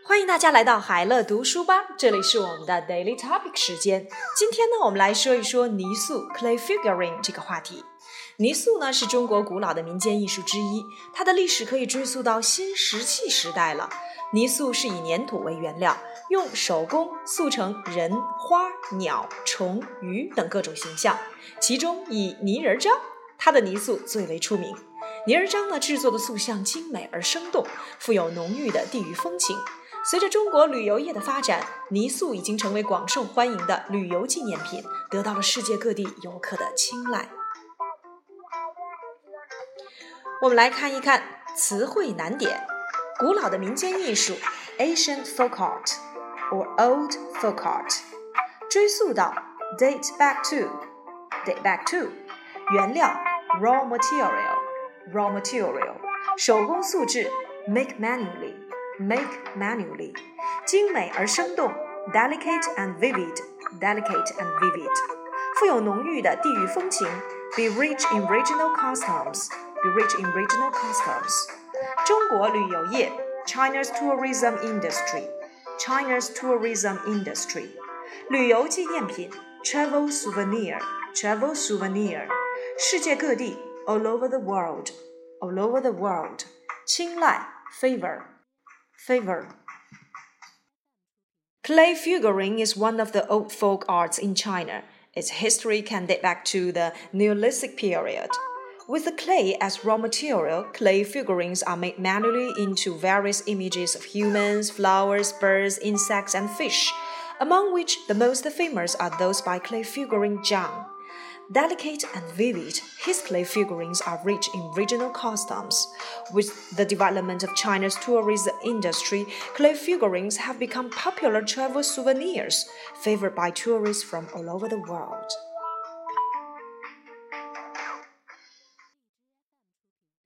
欢迎大家来到海乐读书吧，这里是我们的 Daily Topic 时间。今天呢，我们来说一说泥塑 Clay Figurine 这个话题。泥塑呢是中国古老的民间艺术之一，它的历史可以追溯到新石器时代了。泥塑是以粘土为原料，用手工塑成人、花、鸟、虫、鱼等各种形象，其中以泥人张，它的泥塑最为出名。泥人张呢制作的塑像精美而生动，富有浓郁的地域风情。随着中国旅游业的发展，泥塑已经成为广受欢迎的旅游纪念品，得到了世界各地游客的青睐。我们来看一看词汇难点。古老的民间艺术 Ancient folk art or old folk art， 追溯到 date back to 原料 raw material 手工塑制 make manually 精美而生动 delicate and vivid 富有浓郁的地域風情 be rich in regional customs 中國旅遊業 China's tourism industry 旅遊紀念品 travel souvenir 世界各地 all over the world 青睞 favor Clay figurine is one of the old folk arts in China. Its history can date back to the Neolithic period. With the clay as raw material, clay figurines are made manually into various images of humans, flowers, birds, insects, and fish, among which the most famous are those by clay figurine Zhang. Delicate and vivid, his clay figurines are rich in regional customs. With the development of China's tourism industry, clay figurines have become popular travel souvenirs, favored by tourists from all over the world.